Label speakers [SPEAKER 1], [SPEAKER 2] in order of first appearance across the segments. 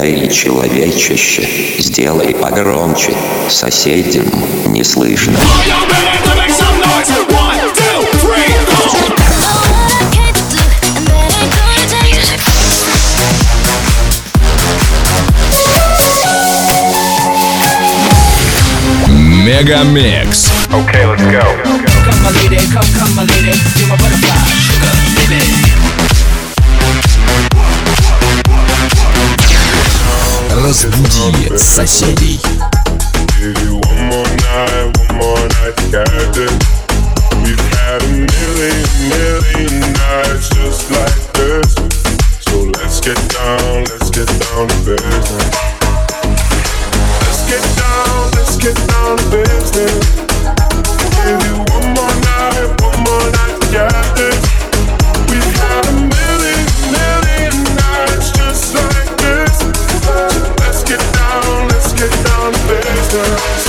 [SPEAKER 1] Эй, человечище, сделай погромче, соседям не слышно.
[SPEAKER 2] Мегамикс.
[SPEAKER 3] Okay, let's go.
[SPEAKER 4] Come my lady, come my lady, you're my butterfly, sugar, baby.
[SPEAKER 2] Разбуди соседей.
[SPEAKER 3] Give you one more night, got it. We've had a million nights just like this. So let's get down to business. Let's get down to business. Give you one more night, got this. We've had a million nights just like this. So let's get down to business.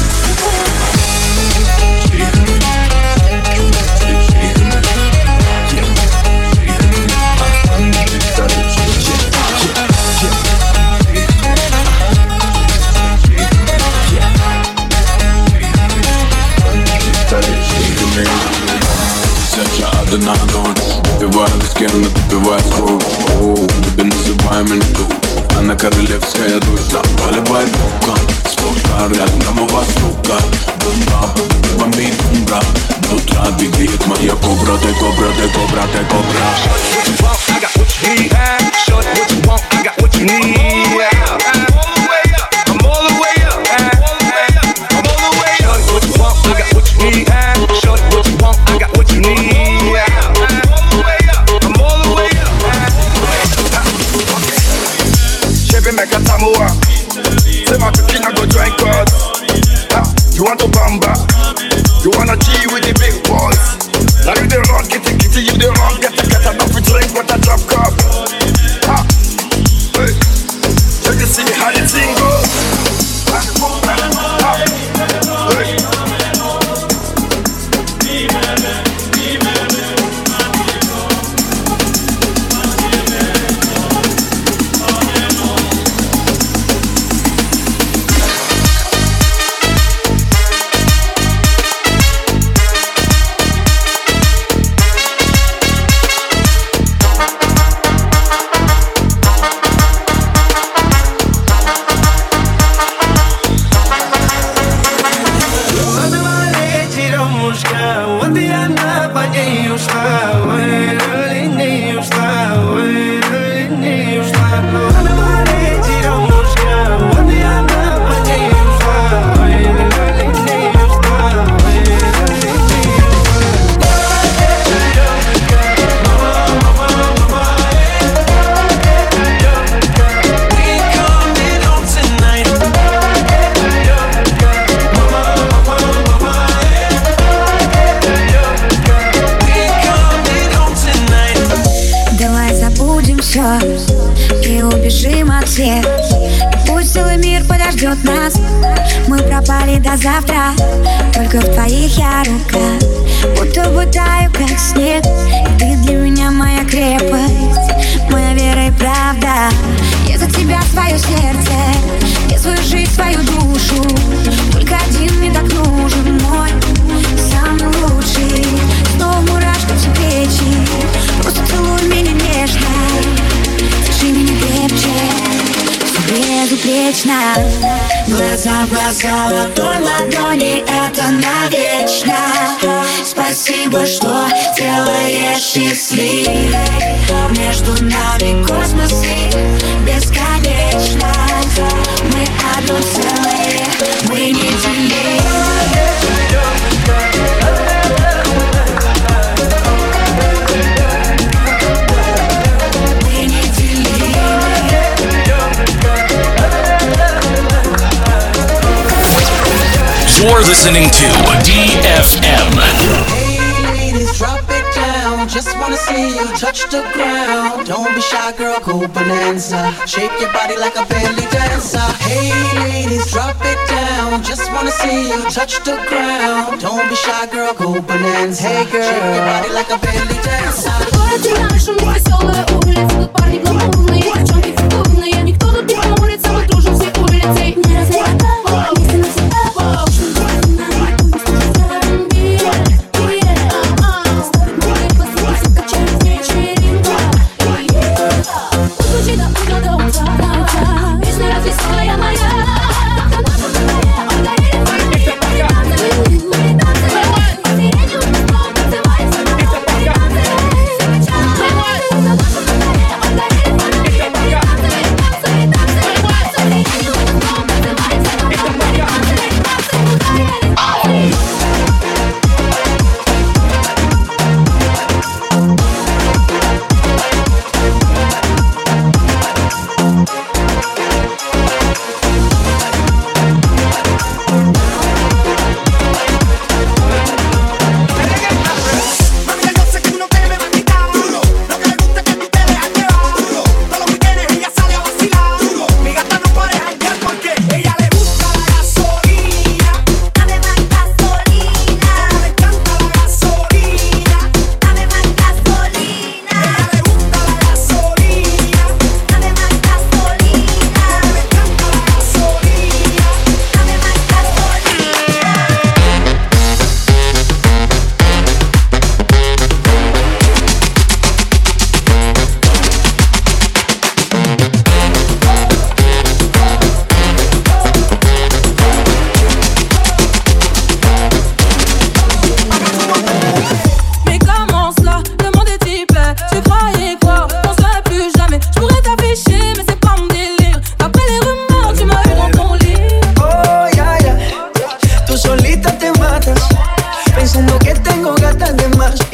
[SPEAKER 5] Нагон, выпиваю виски, напиваю скоро. Тебе называем льду, она королевская душа. Поливай вулкан, спорта рядом у вас рука. Бумба, бомбит бумба. До утра двигает моя кобра, ты кобра, ты кобра, ты кобра.
[SPEAKER 6] I got what you need. Shorty, what you want, I got what you need. I'm all the way up. I'm all the way up. Shorty, what you want, I got what you need. Shorty, what you want, I got what you need. Make a tamuwa. Say my cooking, I go drink us. You want to bamba? You wanna G with the big boys? Now you the wrong, kitty, you the wrong. Get enough to drink, but I drop cup. Hey, so you see how the thing goes. Hey.
[SPEAKER 7] И убежим от всех. И пусть целый мир подождет нас. Мы пропали до завтра. Только в твоих я рука. Будто бы таю, как снег. И ты для меня моя крепость, моя вера и правда. Я за тебя свое сердце, я свою жизнь, свою душу. Только один мне так нужен, мой самый лучший. Снова мурашка все плечи. Просто целуй меня нежно, держи меня крепче, все безупречно. Глаза в глаза, ладонь ладони, это навечно. Спасибо, что делаешь счастливой. Между нами космосы бесконечно. Мы одно целое, мы неделимы.
[SPEAKER 2] You're listening to DFM.
[SPEAKER 8] Hey ladies, drop it down. Just wanna see you touch the ground. Don't be shy, girl, go bonanza. Shake your body like a belly dancer. Hey ladies, drop it down. Just wanna see you touch the ground. Don't be shy, girl, go bonanza. Hey girl, shake your body like a belly dancer.
[SPEAKER 9] В городе нашем веселая улица, тут парни гламурные, девчонки фигурные, никто тут не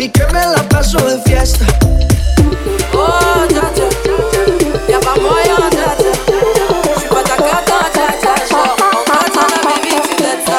[SPEAKER 8] y que me la paso de fiesta.
[SPEAKER 9] Oh, ya, ya, ya vamos allá, ya, ya. Je suis pas ta cata, ya, ya, ya. On t'attend la baby, tu t'es ça.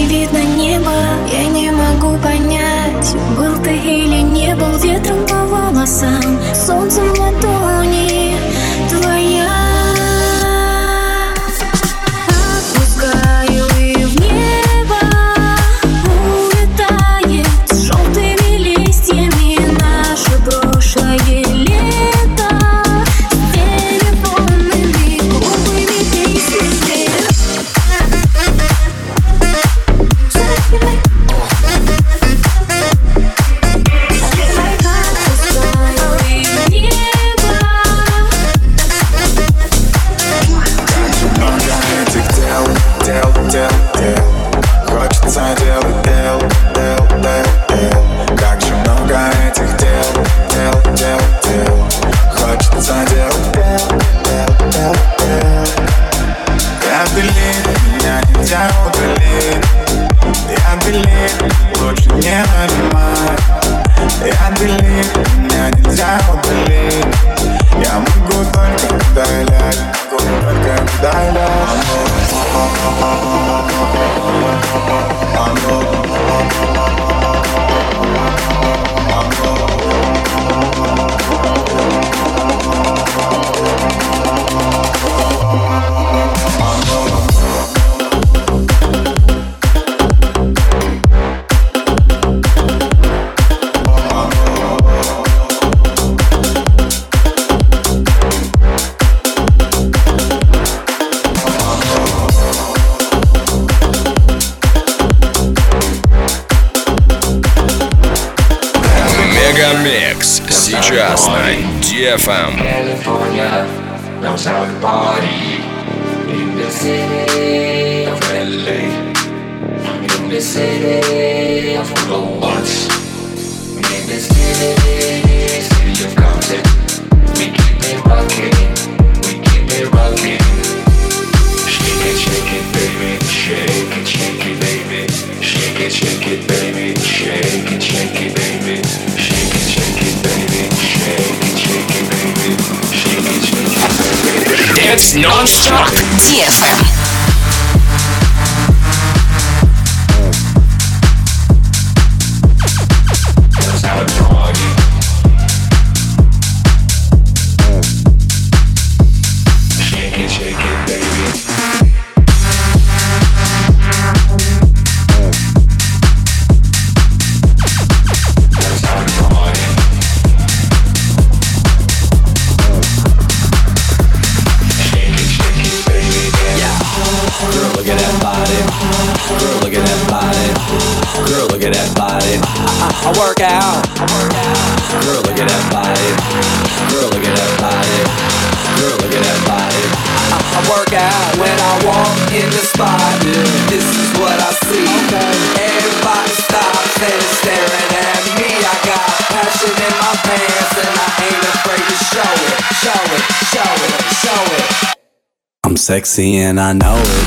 [SPEAKER 10] Был ты или не был ветром повалом.
[SPEAKER 7] волосам, солнцем в ладони твоя. Отпускаю и в небо улетает с желтыми листьями наше прошлое лето, с телефонными глупыми песнями.
[SPEAKER 5] Хочется делать дел. Как же много этих дел. Хочется делать дел. Я белее, меня нельзя удалить. Я белее, лучше не нанимать. Я белее, меня нельзя удалить. Я могу только удалять.
[SPEAKER 2] Мегамикс сейчас на DFM.
[SPEAKER 10] California knows how to party. In the city of LA, in the city of Columbus, in the city of Compton. We keep it rocking, Shake it, baby, shake it, baby. Shake it, baby, shake it, baby. Shake it, baby, shake it, baby. Shake it, baby.
[SPEAKER 2] Dance non-stop.
[SPEAKER 11] DFM.
[SPEAKER 10] Knows how to party. Shake it, baby.
[SPEAKER 12] I work out. Girl, look at that body. Girl, look at that body. Girl, look at that body. I work out when I walk in the spot. This is what I see. Everybody stops and is staring at me. I got passion in my pants and I ain't afraid to show it. Show it, show it, show it. I'm sexy and I know it.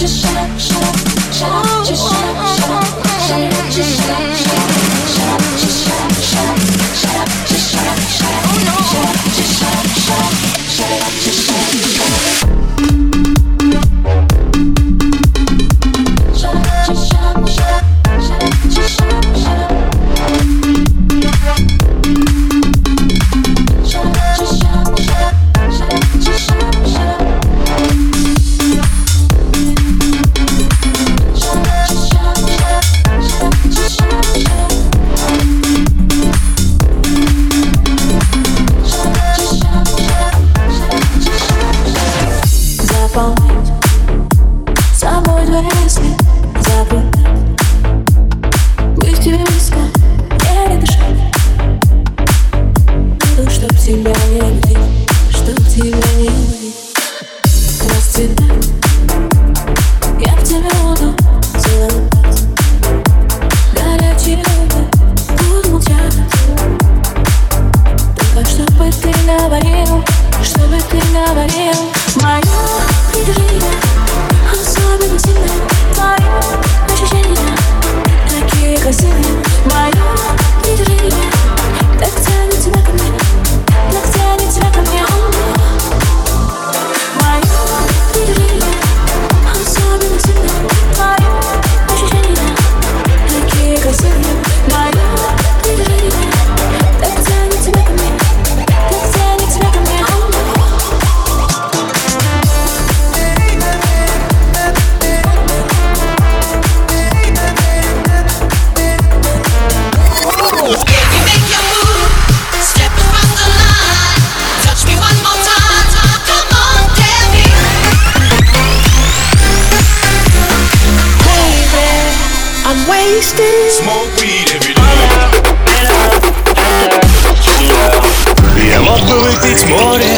[SPEAKER 11] Я мог бы выпить море,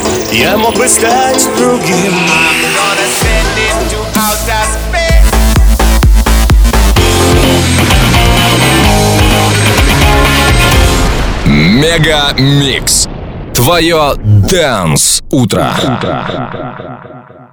[SPEAKER 11] я мог бы стать другим.
[SPEAKER 2] Мега Микс. Твое Dance утро.